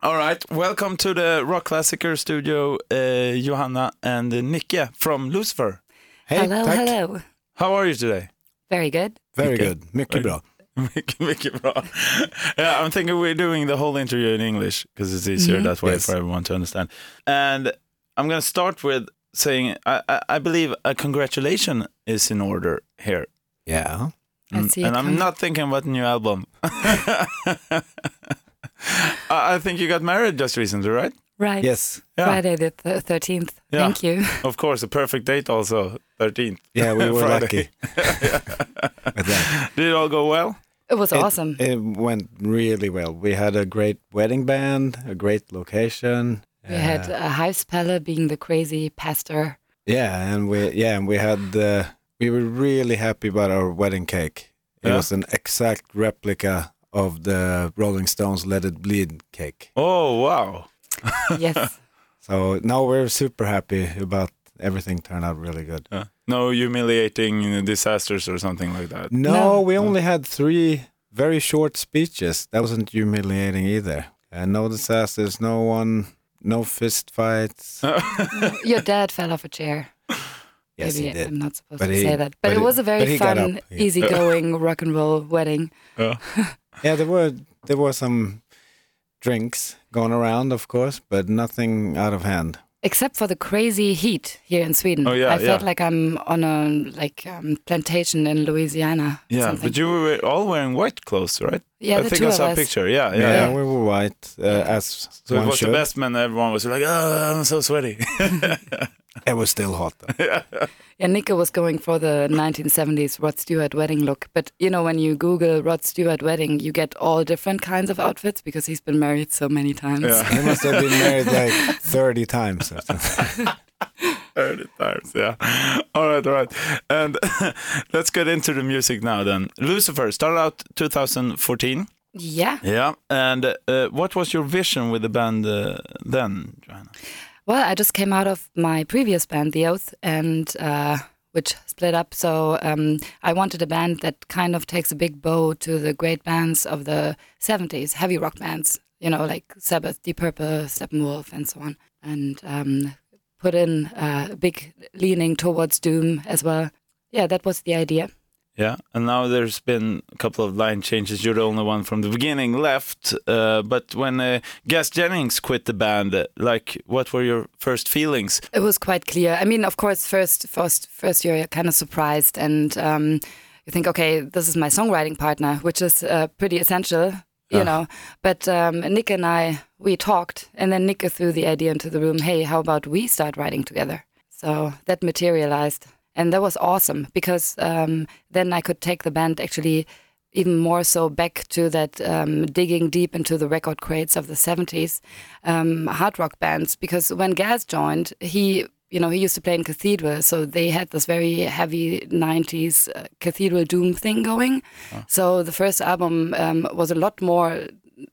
All right, welcome to the Rock Classicer studio, Johanna and Nicke from Lucifer. Hey, hello, tack. hello. How are you today? Very good. Very Mycket. good. Mycket bra. Mycket bra. Yeah, I'm thinking we're doing the whole interview in English because it's easier that way Yes. for everyone to understand. And I'm going to start with saying I believe a congratulation is in order here. Yeah. I see it And I'm coming. not thinking about the new album. I think you got married just recently, right? Right. Yes. Yeah. Friday the 13th. Yeah. Thank you. Of course, a perfect date also, 13th. Yeah, we were Friday. lucky with that. Did it all go well? It was awesome. It went really well. We had a great wedding band, a great location. We had Huispelle being the crazy pastor. and we had we were really happy about our wedding cake. It Yeah. was an exact replica of the Rolling Stones Let It Bleed cake. Oh, wow. Yes. So now we're super happy about everything turned out really good. No humiliating disasters or something like that. No, we only had 3 very short speeches. That wasn't humiliating either. No disasters, no fist fights. Your dad fell off a chair. Yes, Maybe he did. I'm not supposed But to he- say that. but But it was a but very he got fun, up. Yeah. easygoing rock and roll wedding. Yeah, there were some drinks going around, of course, but nothing out of hand. Except for the crazy heat here in Sweden. Oh, yeah, I felt yeah. like I'm on a plantation in Louisiana. Yeah, something. but you were all wearing white clothes, right? Yeah, I the think two I of saw a us. picture. Yeah. Yeah, we were white, as So it one was should. the best man. Everyone was like, "Oh, I'm so sweaty." It was still hot, though. Yeah, Nicke was going for the 1970s Rod Stewart wedding look. But, you know, when you Google Rod Stewart wedding, you get all different kinds of outfits because he's been married so many times. Yeah. He must have been married like 30 times or something. 30 times, yeah. All right. And let's get into the music now then. Lucifer started out 2014. Yeah. Yeah. And what was your vision with the band then, Johanna? Well, I just came out of my previous band, The Oath, and which split up. So I wanted a band that kind of takes a big bow to the great bands of the 70s, heavy rock bands, you know, like Sabbath, Deep Purple, Steppenwolf, and so on. And put in a big leaning towards doom as well. Yeah, that was the idea. Yeah, and now there's been a couple of line changes. You're the only one from the beginning left. But when Gas Jennings quit the band, what were your first feelings? It was quite clear. I mean, of course, first you're kind of surprised and you think, okay, this is my songwriting partner, which is pretty essential, you know. But Nick and we talked, and then Nick threw the idea into the room, hey, how about we start writing together? So that materialized. And that was awesome because then I could take the band actually even more so back to that digging deep into the record crates of the 70s hard rock bands. Because when Gaz joined, he used to play in Cathedral, so they had this very heavy 90s Cathedral doom thing going. Oh. So the first album was a lot more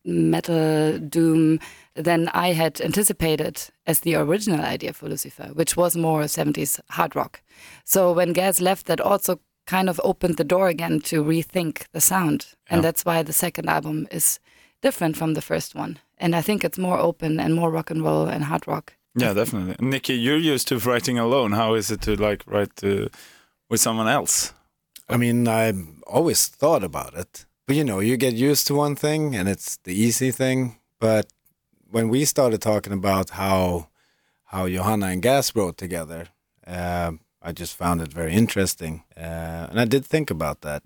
metal doom than I had anticipated as the original idea for Lucifer, which was more 70s hard rock. So when Gaz left, that also kind of opened the door again to rethink the sound. Yeah. And that's why the second album is different from the first one. And I think it's more open and more rock and roll and hard rock. Yeah, definitely. Nicke, you're used to writing alone. How is it to write with someone else? I mean, I always thought about it. But, you get used to one thing and it's the easy thing. But when we started talking about how Johanna and Gas wrote together, I just found it very interesting. And I did think about that.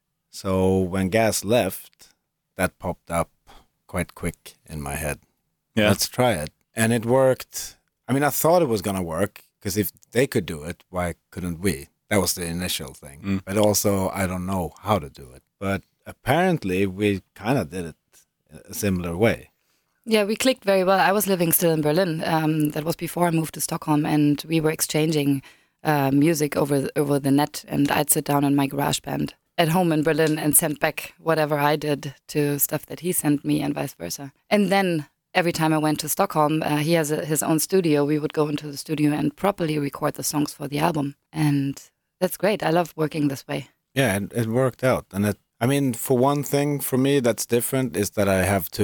So when Gas left, that popped up quite quick in my head. Yeah. Let's try it. And it worked. I mean, I thought it was going to work because if they could do it, why couldn't we? That was the initial thing. But also, I don't know how to do it. But apparently, we kind of did it a similar way. Yeah, we clicked very well. I was living still in Berlin. That was before I moved to Stockholm, and we were exchanging music over the net. And I'd sit down in my garage band at home in Berlin and send back whatever I did to stuff that he sent me, and vice versa. And then every time I went to Stockholm, he has his own studio. We would go into the studio and properly record the songs for the album, and that's great. I love working this way. Yeah, it worked out, and for one thing, for me, that's different is that I have to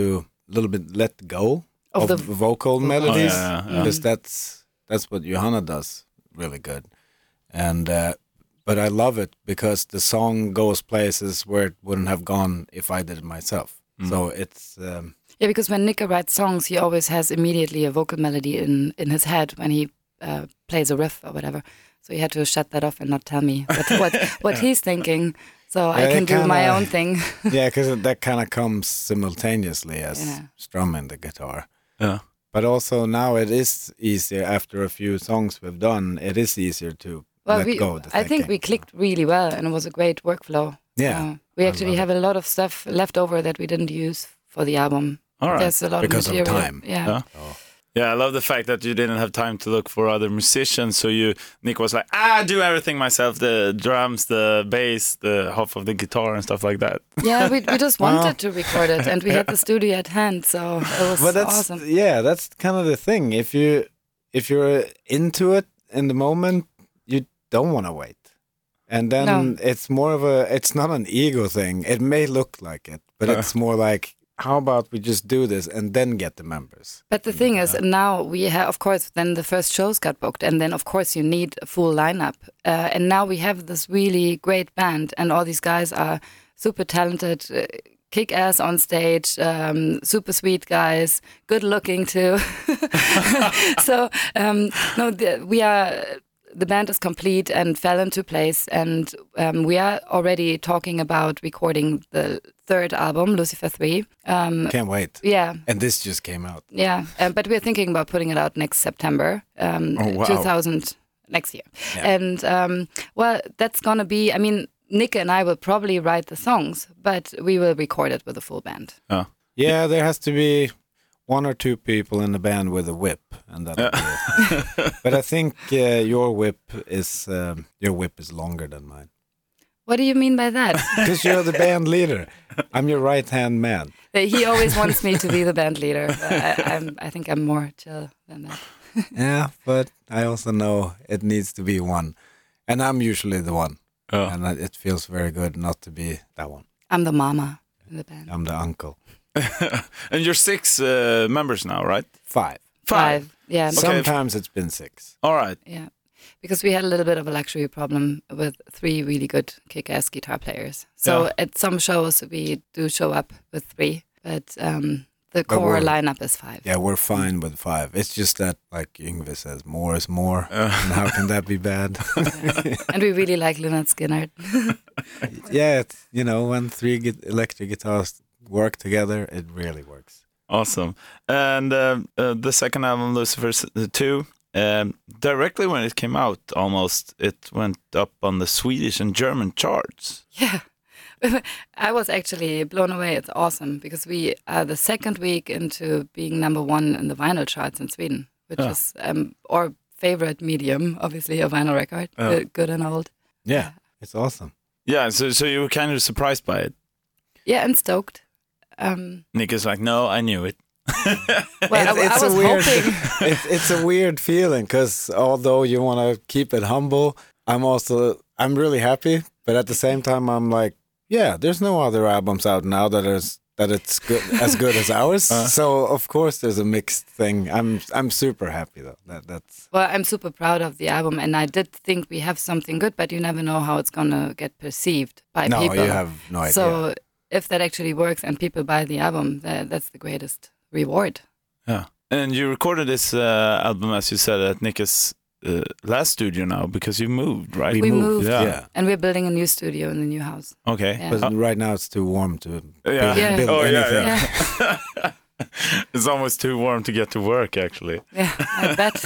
little bit let go Of of the vocal melodies, yeah. because that's what Johanna does really good. And but I love it because the song goes places where it wouldn't have gone if I did it myself. So it's Yeah, because when Nika writes songs, he always has immediately a vocal melody in his head when he plays a riff or whatever. So he had to shut that off and not tell me what he's thinking. So I can do my own thing. yeah, because that kind of comes simultaneously as Yeah. strumming the guitar. Yeah. But also now it is easier after a few songs we've done. It is easier to Well, let go of the I think thinking. we clicked really well, and it was a great workflow. Yeah, We I actually love have a lot of stuff left over that we didn't use for the album. All right. There's a lot Because of of material. time. Yeah. Yeah. Yeah, I love the fact that you didn't have time to look for other musicians. So Nick was like, I do everything myself, the drums, the bass, the half of the guitar and stuff like that. Yeah, we just wanted to record it, and we had the studio at hand, so it was But that's awesome. that's kind of the thing. If you're into it in the moment, you don't want to wait. And then No. it's more of it's not an ego thing. It may look like it, but it's more like, how about we just do this and then get the members? But the thing is, now we have, of course, then the first shows got booked, and then, of course, you need a full lineup. And now we have this really great band, and all these guys are super talented, kick ass on stage, super sweet guys, good looking too. So, no, the band is complete and fell into place, and we are already talking about recording the third album, Lucifer 3. Can't wait. Yeah. And this just came out. Yeah, but we're thinking about putting it out next September, wow. 2000 next year. Yeah. And well, that's gonna be. I mean, Nika and I will probably write the songs, but we will record it with a full band. Oh. Yeah, there has to be one or two people in the band with a whip, and that. But I think your whip is longer than mine. What do you mean by that? Because you're the band leader. I'm your right-hand man. He always wants me to be the band leader. I think I'm more chill than that. Yeah, but I also know it needs to be one. And I'm usually the one. Oh. And it feels very good not to be that one. I'm the mama in the band. I'm the uncle. And you're 6 members now, right? 5. 5. Yeah. Okay. Sometimes it's been 6. All right. Yeah. Because we had a little bit of a luxury problem with 3 really good kick-ass guitar players. So Yeah. at some shows we do show up with 3, but the core lineup is 5. Yeah, we're fine with 5. It's just that, like Yngve says, more is more. And how can that be bad? And we really like Lynyrd Skynyrd. Yeah, it's, when 3 electric guitars work together, it really works. Awesome. And the second album, Lucifer 2, directly when it came out, almost, it went up on the Swedish and German charts. Yeah. I was actually blown away. It's awesome because we are the second week into being number 1 in the vinyl charts in Sweden, which is our favorite medium, obviously, a vinyl record, good and old. Yeah, it's awesome. Yeah, so you were kind of surprised by it. Yeah, and stoked. Nick is like, no, I knew it. Well, I was hoping. It's a weird feeling because although you want to keep it humble, I'm really happy, but at the same time I'm like, yeah, there's no other albums out now that it's good as good as ours. So of course there's a mixed thing. I'm super happy though. That's Well, I'm super proud of the album, and I did think we have something good, but you never know how it's gonna get perceived by people. No, you have no idea. So if that actually works and people buy the album, that's the greatest reward. Yeah. And you recorded this album, as you said, at Nick's last studio now because you moved, right? We moved. Yeah. And we're building a new studio in the new house. Okay. Yeah. But right now it's too warm to Yeah. build Oh, anything. yeah. It's almost too warm to get to work, actually. Yeah, I bet.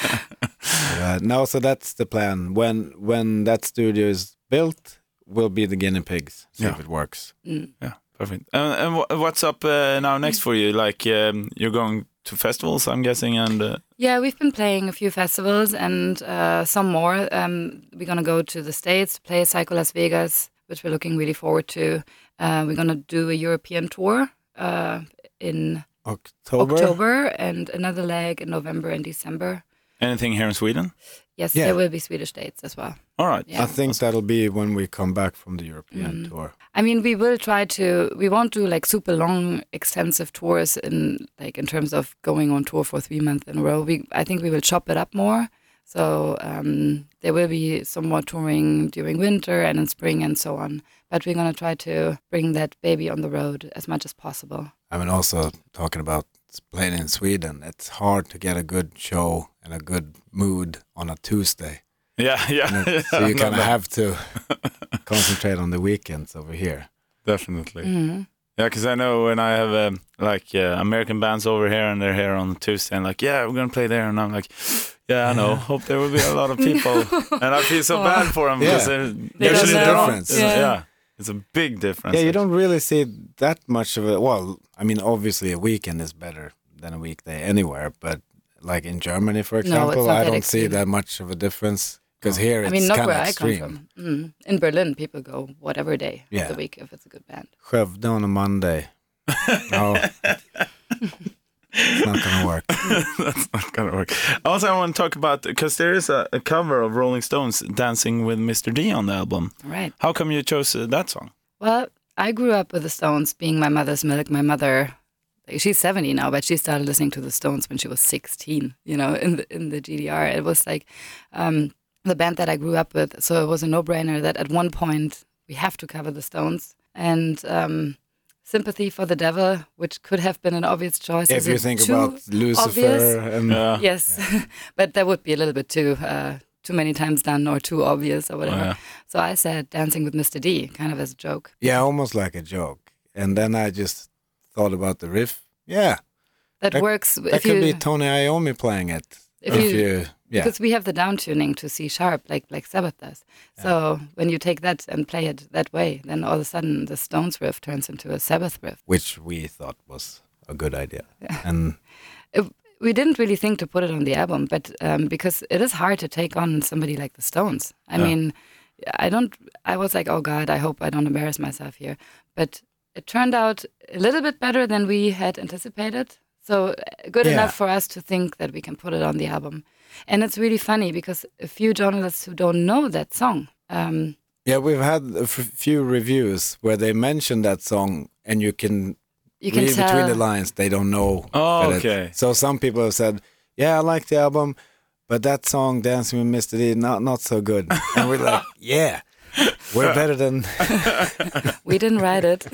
No, so that's the plan. When that studio is built, we'll be the guinea pigs. See if it works. Yeah, perfect. And what's up now next for you? Like you're going to festivals, I'm guessing, and Yeah, we've been playing a few festivals and some more. We're gonna go to the States to play Psycho Las Vegas, which we're looking really forward to. We're gonna do a European tour in October. October and another leg in November and December. Anything here in Sweden? Yes, Yeah. there will be Swedish dates as well. All right. Yeah. I think that'll be when we come back from the European tour. I mean, we will try to. We won't do like super long, extensive tours in terms of going on tour for 3 months in a row. I think we will chop it up more. So there will be some more touring during winter and in spring and so on. But we're going to try to bring that baby on the road as much as possible. I mean, also talking about playing in Sweden, it's hard to get a good show and a good mood on a Tuesday. Yeah. So you kind of have to concentrate on the weekends over here. Definitely. Mm-hmm. Yeah, because I know when I have American bands over here and they're here on Tuesday and like, yeah, we're going to play there. And I'm like, yeah, I know. Hope there will be a lot of people. And I feel so bad for them because There's usually a they're on. difference. Yeah. It's a big difference. Yeah, you don't really see that much of it. Well, I mean, obviously a weekend is better than a weekday anywhere. But like in Germany, for example, it's not I that don't see extreme. that much of a difference. Because here it's I mean, not kind where of I come extreme. from. In Berlin, people go whatever day of Yeah. the week if it's a good band. Skövde on a Monday. No, it's not going to work. That's not going to work. Also, I want to talk about, because there is a cover of Rolling Stones, Dancing with Mr. D on the album. Right. How come you chose that song? Well, I grew up with the Stones being my mother's milk. My mother, she's 70 now, but she started listening to the Stones when she was 16, in the GDR. It was like the band that I grew up with. So it was a no-brainer that at one point we have to cover the Stones. And Sympathy for the Devil, which could have been an obvious choice. If Is you it think too about Lucifer obvious? and Yes, but that would be a little bit too many times done or too obvious or whatever. yeah. So I said Dancing with Mr. D, kind of as a joke. yeah, almost like a joke. And then I just thought about the riff. Yeah, That works that if could be you, Tony Iommi playing it. if you yeah. because we have the down tuning to C sharp like Sabbath does. So when you take that and play it that way, then all of a sudden the Stones riff turns into a Sabbath riff. Which we thought was a good idea. And We didn't really think to put it on the album, but because it is hard to take on somebody like the Stones. I mean, I was like, oh God, I hope I don't embarrass myself here. But it turned out a little bit better than we had anticipated. So good enough for us to think that we can put it on the album. And it's really funny because a few journalists who don't know that song. we've had a few reviews where they mention that song and you can read tell. between the lines, they don't know. Oh, that okay. So some people have said, yeah, I like the album, but that song, Dancing with Mr. D, not so good. And we're like, yeah, we're better than... We didn't write it.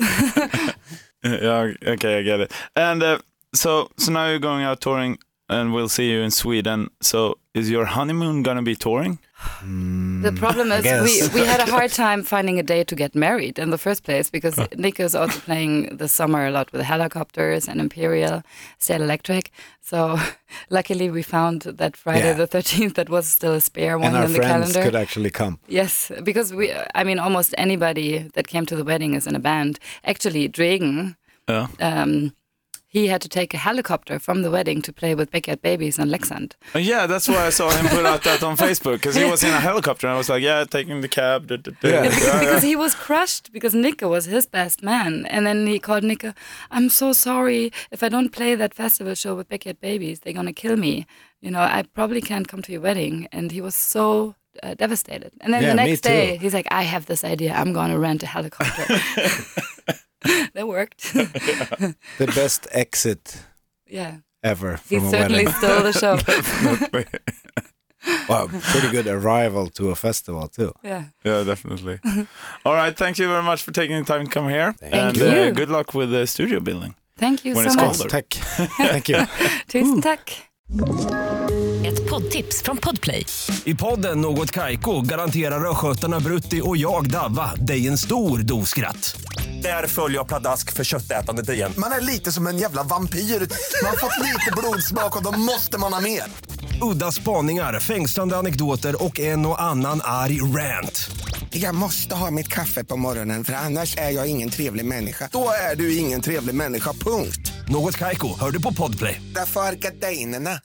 Yeah, okay, I get it. And so now you're going out touring and we'll see you in Sweden. So is your honeymoon going to be touring? The problem is guess. we had a hard time finding a day to get married in the first place because Nick is also playing this summer a lot with Helicopters and Imperial, State Electric. So luckily we found that Friday the 13th that was still a spare one And our in the friends calendar. could actually come. Yes, because almost anybody that came to the wedding is in a band. Actually, Dregen, Yeah. he had to take a helicopter from the wedding to play with Backyard Babies in Leksand. Yeah, that's why I saw him put out that on Facebook, because he was in a helicopter and I was like, yeah, taking the cab. Because he was crushed because Nico was his best man. And then he called Nico, I'm so sorry. If I don't play that festival show with Backyard Babies, they're going to kill me. I probably can't come to your wedding. And he was so devastated. And then the next day, he's like, I have this idea. I'm going to rent a helicopter. That worked. The best exit ever He from a certainly wedding. stole the show. Well, pretty good arrival to a festival too. Yeah. Yeah, definitely. All right, thank you very much for taking the time to come here. Thank and you. Good luck with the studio building. Thank you When so it's much. colder. Tack. Thank you. Tusen tack. Ett poddtips från Podplay. I podden Något Kaiko garanterar östgötarna Brutti och jag Davva dig en stor doskratt. Där följer jag pladask för köttätandet igen. Man är lite som en jävla vampyr. Man har fått lite blodsmak och då måste man ha mer. Udda spaningar, fängslande anekdoter och en och annan arg rant. Jag måste ha mitt kaffe på morgonen för annars är jag ingen trevlig människa. Då är du ingen trevlig människa, punkt. Något Kaiko, hör du på Podplay. Därför är gardinerna.